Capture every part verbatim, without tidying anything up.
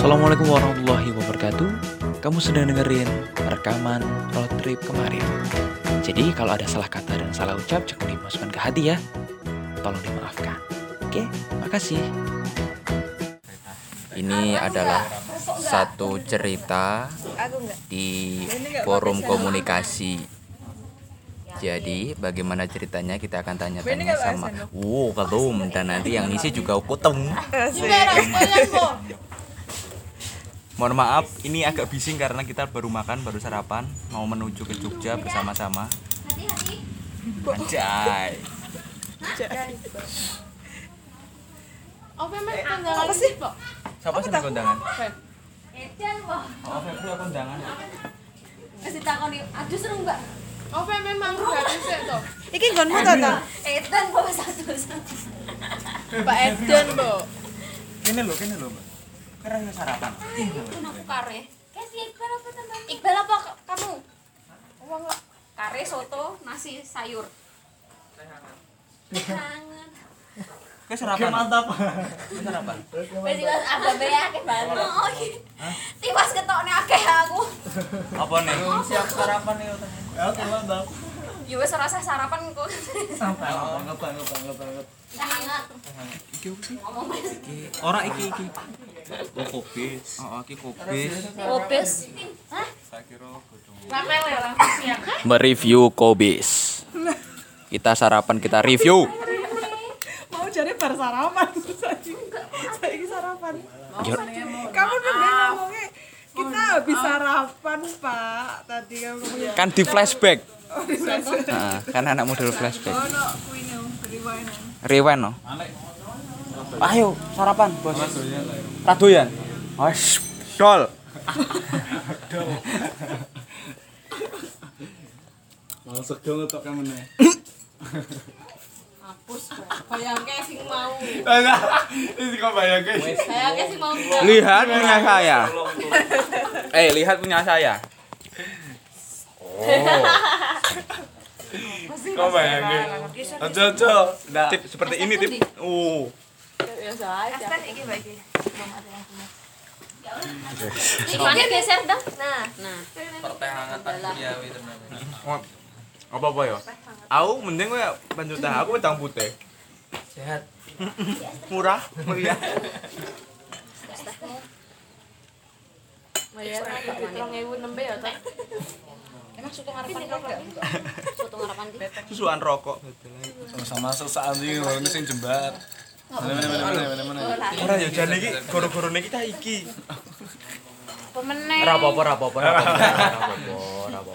Assalamualaikum warahmatullahi wabarakatuh. Kamu sedang dengerin rekaman road trip kemarin. Jadi kalau ada salah kata dan salah ucap jangan dimasukkan ke hati ya. Tolong dimaafkan. Oke, makasih. Ini adalah satu cerita di forum komunikasi. Jadi bagaimana ceritanya kita akan tanya-tanya sama wow ketum dan nanti yang ngisi juga kutem. Mohon maaf, ini agak bising karena kita baru makan, baru sarapan, mau menuju ke Jogja bersama-sama. Anjay. Apa sih? Siapa sih kondangan? Edan kok. Oh, Febri kondangan. Kasih takoni, aduh seru enggak? Apa memang gratis ya toh? Iki nggonmu to to? Edan kok satu satu. Pak Edan, Bu. Kene lho, kene lho, Mbak. Keren sarapan. Aku kare. Kasih Iqbal apa teman? Iqbal apa kamu? Uang kare soto, nasi sayur. Hangat. Ke sarapan. Mantap. Ke sarapan. Wis iki ada bae akeh banget. Oh iki. Tiwas ketokne akeh aku. Apa nih? Siap sarapan nih. Oke, mantap. Ya wis ora usah sarapan kok. Sampai banget banget banget banget. Hangat. Iki opo sih? Ngomong wis. Iki ora iki iki. Oh, kopis. Oh, iki kopis. Kopis. Hah? Ramel ya langsung siang. Mereview kobis. Kita sarapan, kita review. Mau cari bar sarapan. Saiki sarapan. Yo. Kamu tuh ngomongnya kita habis sarapan, Pak. Tadi kamu ngomongnya. Kan di flashback. Heeh, kan anak model flashback. Oh, no, kuine rewind. Rewind no. Ayo sarapan, Bos. Radoyan. Wes, dol. Masuk dong untuk kamu nih. Hapus, bayangke sing mau. Ini kok bayangin? Bayangke sing mau. Lihat punya saya. Eh, lihat punya saya. Oh. Kok bayangin? Ojo ojo. Tip seperti ini tip. Uh. Biasa aja. Iki baik iki. Iklannya geser dong. Nah, nah. Apa apa ya? Aku mending kowe bantu teh aku wedang putih. Sehat. Murah, meriah. Bayar rong ewu nembe ya, Tok. Emang soto harapan kok enggak? Soto harapan di. Susuan rokok. Sama-sama sesaat ini ini sing jembat. Mana mana mana mana mana. Ora ya jane iki goro-gorone kita iki. Pemenang. Ora apa-apa, ora apa-apa, ora apa-apa. Ora apa-apa.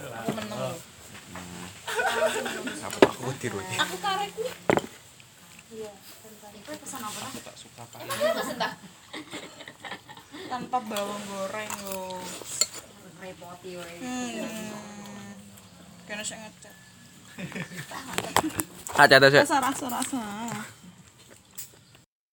Aku tiru. Aku karek nih. Iya, itu pesan apa? Aku tak suka apa. Emang pesan tak? Tanpa bawang goreng yo. Repoti wae. Hmm. Kena sing ngecat. Aja ta, Rasa rasa rasa.